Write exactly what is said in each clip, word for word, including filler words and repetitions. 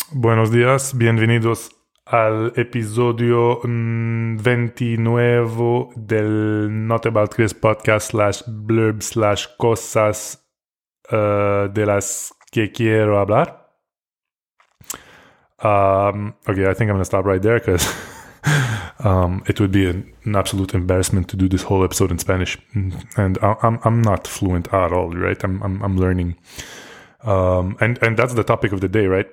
Buenos días, bienvenidos al episodio mm, veintinueve del Not About Chris podcast slash blurb slash cosas uh, de las que quiero hablar. Um, okay, I think I'm going to stop right there because um, it would be an, an absolute embarrassment to do this whole episode in Spanish. And I, I'm I'm not fluent at all, right? I'm I'm, I'm learning. Um, and, and that's the topic of the day, right?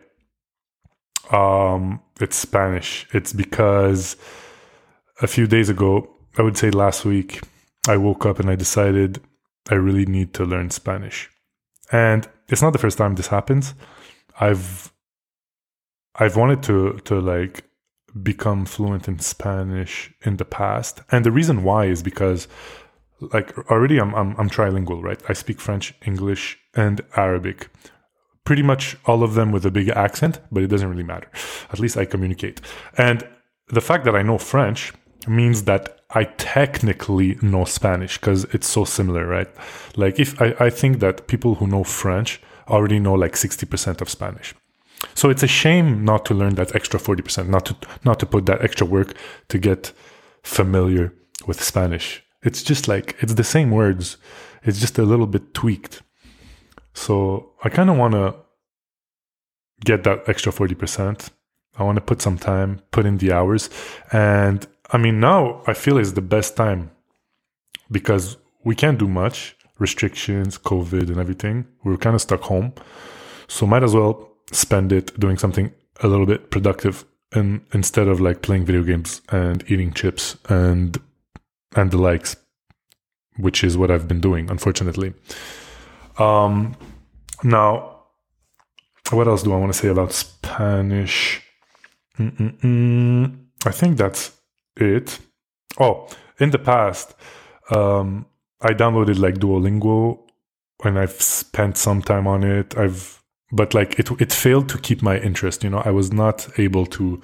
Um, it's Spanish. It's because a few days ago, I would say last week, I woke up and I decided I really need to learn Spanish. And it's not the first time this happens. I've I've wanted to to like become fluent in Spanish in the past. And the reason why is because like already I'm I'm I'm trilingual, right? I speak French, English, and Arabic. Pretty much all of them with a big accent, but it doesn't really matter. At least I communicate. And the fact that I know French means that I technically know Spanish because it's so similar, right? Like if I, I think that people who know French already know like sixty percent of Spanish. So it's a shame not to learn that extra forty percent, not to not to put that extra work to get familiar with Spanish. It's just like, it's the same words. It's just a little bit tweaked. So I kind of want to get that extra forty percent. I want to put some time, put in the hours. And I mean, now I feel is the best time because we can't do much. Restrictions, COVID and everything. We're kind of stuck home. So might as well spend it doing something a little bit productive and instead of like playing video games and eating chips and and the likes, which is what I've been doing, unfortunately. Um, now, what else do I want to say about Spanish? Mm-mm-mm. I think that's it. Oh, in the past, um, I downloaded like Duolingo and I've spent some time on it. I've, but like it, it failed to keep my interest. You know, I was not able to,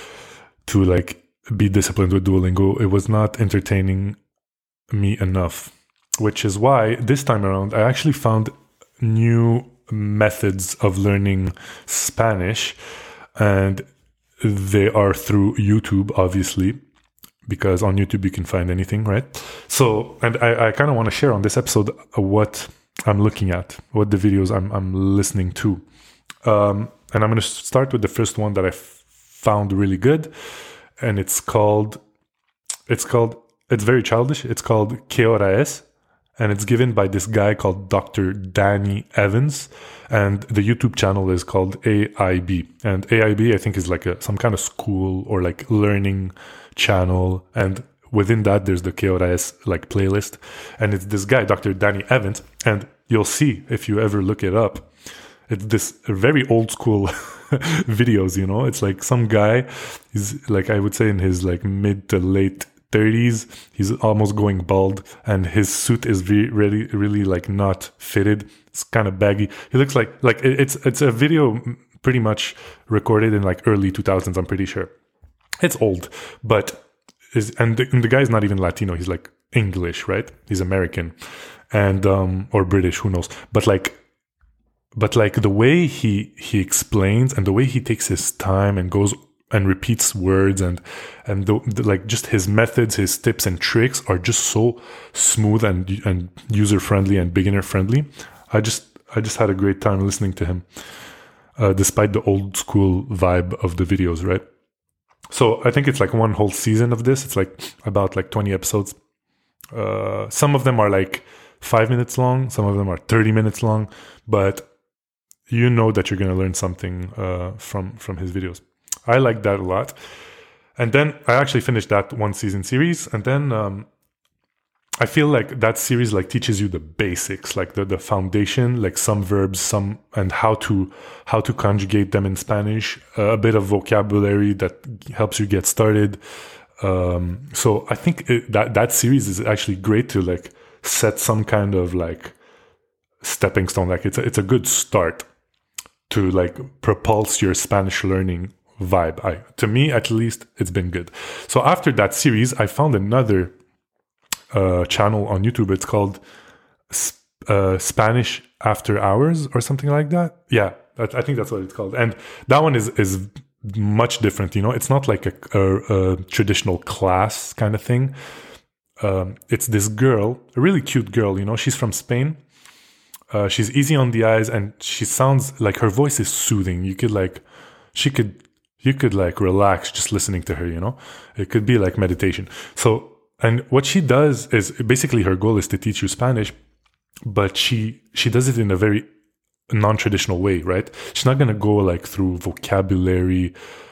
to like be disciplined with Duolingo. It was not entertaining me enough. Which is why this time around, I actually found new methods of learning Spanish. And they are through YouTube, obviously, because on YouTube you can find anything, right? So, and I, I kind of want to share on this episode what I'm looking at, what the videos I'm, I'm listening to. Um, and I'm going to start with the first one that I f- found really good. And it's called, it's called, it's very childish. It's called ¿Qué hora es? And it's given by this guy called Doctor Danny Evans. And the YouTube channel is called A I B. And A I B, I think, is like a, some kind of school or like learning channel. And within that, there's the K O R S like playlist. And it's this guy, Doctor Danny Evans. And you'll see if you ever look it up. It's this very old school videos, you know. It's like some guy, he's like, I would say in his like mid to late thirties, he's almost going bald, and his suit is re- really, really like not fitted. It's kind of baggy. He looks like like it's it's a video pretty much recorded in like early two thousands. I'm pretty sure it's old, but is and the, and the guy's not even Latino. He's like English, right? He's American, and um or British, who knows? But like, but like the way he he explains and the way he takes his time and goes and repeats words and and the, the, like just his methods, his tips and tricks are just so smooth and and user friendly and beginner friendly. I just I just had a great time listening to him, uh, despite the old school vibe of the videos, right? So I think it's like one whole season of this. It's like about like twenty episodes. Uh, some of them are like five minutes long. Some of them are thirty minutes long. But you know that you're gonna learn something uh, from from his videos. I like that a lot. And then I actually finished that one season series. And then um, I feel like that series like teaches you the basics, like the, the foundation, like some verbs, some and how to how to conjugate them in Spanish, uh, a bit of vocabulary that helps you get started. Um, so I think it, that that series is actually great to like set some kind of like stepping stone. Like it's a, it's a good start to like propulse your Spanish learning vibe. I, to me, at least, it's been good. So after that series, I found another uh, channel on YouTube. It's called uh, Spanish After Hours or something like that. Yeah, I, I think that's what it's called. And that one is is much different. You know, it's not like a, a, a traditional class kind of thing. Um, it's this girl, a really cute girl. You know, she's from Spain. Uh, she's easy on the eyes, and she sounds like her voice is soothing. You could like, she could, you could like relax just listening to her. You know, it could be like meditation. So. And what she does is basically her goal is to teach you Spanish, but she she does it in a very non-traditional way, right? She's not gonna go like through vocabulary,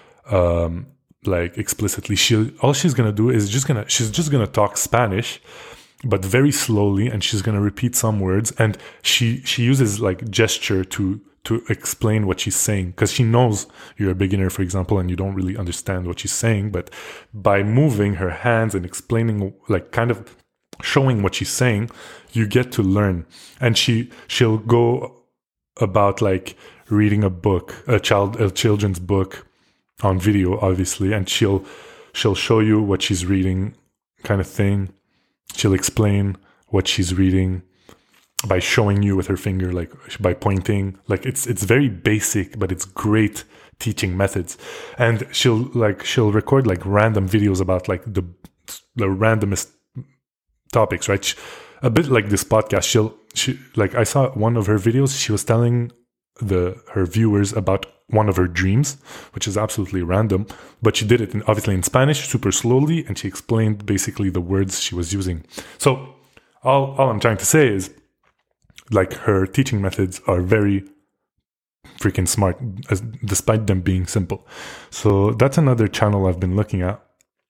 um, like explicitly. She all she's gonna do is just gonna she's just gonna talk Spanish, but very slowly, and she's gonna repeat some words, and she she uses like gesture to. to explain what she's saying, because she knows you're a beginner, for example, and you don't really understand what she's saying, but by moving her hands and explaining, like kind of showing what she's saying, you get to learn. And she she'll go about like reading a book, a child a children's book on video, obviously, and she'll she'll show you what she's reading, kind of thing. She'll explain what she's reading by showing you with her finger, like by pointing. Like it's it's very basic, but it's great teaching methods. And she'll like she'll record like random videos about like the the randomest topics, right? She, a bit like this podcast. She'll she like I saw one of her videos. She was telling the her viewers about one of her dreams, which is absolutely random, but she did it in, obviously in Spanish, super slowly, and she explained basically the words she was using. So all all I'm trying to say is, like, her teaching methods are very freaking smart, as, despite them being simple. So that's another channel I've been looking at.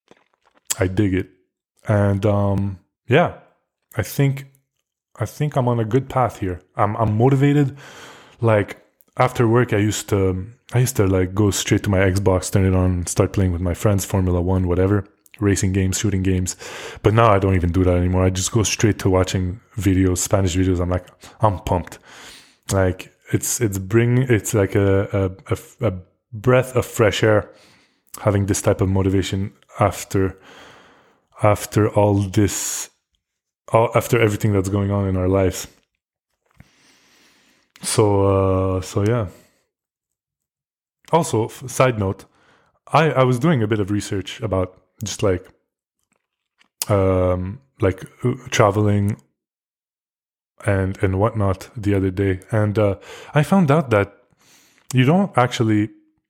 I dig it. And um, yeah, I think I think I'm on a good path here. I'm I'm motivated. Like after work, I used to I used to like go straight to my Xbox, turn it on, start playing with my friends, Formula One, whatever. Racing games, shooting games. But now I don't even do that anymore. I just go straight to watching videos, Spanish videos. I'm like, I'm pumped. Like it's it's bring it's like a a, a, a breath of fresh air, having this type of motivation after after all this, all, after everything that's going on in our lives. So uh, so yeah. Also, side note, I I was doing a bit of research about just like um like uh, traveling and and whatnot the other day, and uh I found out that you don't actually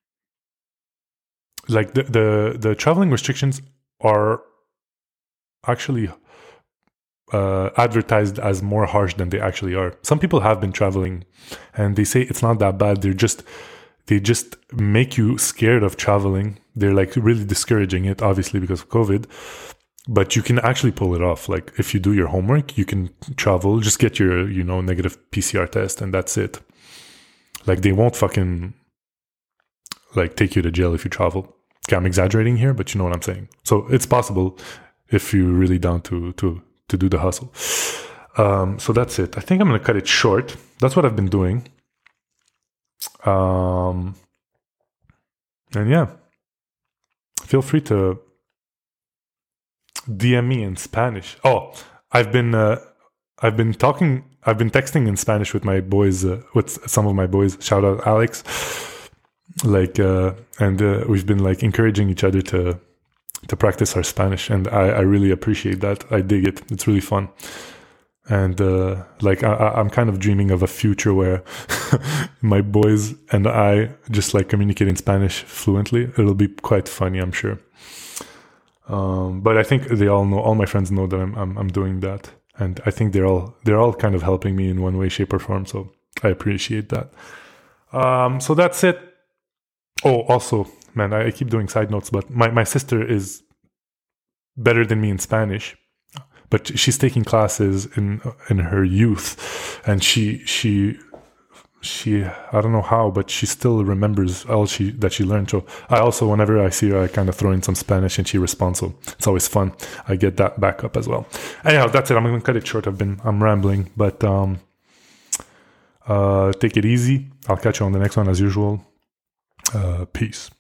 like the the, the traveling restrictions are actually uh advertised as more harsh than they actually are. Some people have been traveling and they say it's not that bad. They're just They just make you scared of traveling. They're like really discouraging it, obviously, because of COVID. But you can actually pull it off. Like if you do your homework, you can travel. Just get your, you know, negative P C R test, and that's it. Like they won't fucking like take you to jail if you travel. Okay, I'm exaggerating here, but you know what I'm saying. So it's possible if you're really down to to to do the hustle. Um, so that's it. I think I'm gonna cut it short. That's what I've been doing. Um, and yeah, feel free to D M me in Spanish. Oh, I've been, uh, I've been talking, I've been texting in Spanish with my boys, uh, with some of my boys. Shout out Alex. Like, uh, and uh, we've been like encouraging each other to to practice our Spanish, and I, I really appreciate that. I dig it. It's really fun. And uh, like I, I'm kind of dreaming of a future where my boys and I just like communicate in Spanish fluently. It'll be quite funny, I'm sure. Um, but I think they all know. All my friends know that I'm, I'm I'm doing that, and I think they're all they're all kind of helping me in one way, shape, or form. So I appreciate that. Um, so that's it. Oh, also, man, I, I keep doing side notes, but my my sister is better than me in Spanish. But she's taking classes in in her youth, and she she she I don't know how, but she still remembers all she that she learned. So I also, whenever I see her, I kind of throw in some Spanish, and she responds. So it's always fun. I get that back up as well. Anyhow, that's it. I'm gonna cut it short. I've been I'm rambling, but um, uh, take it easy. I'll catch you on the next one as usual. Uh, peace.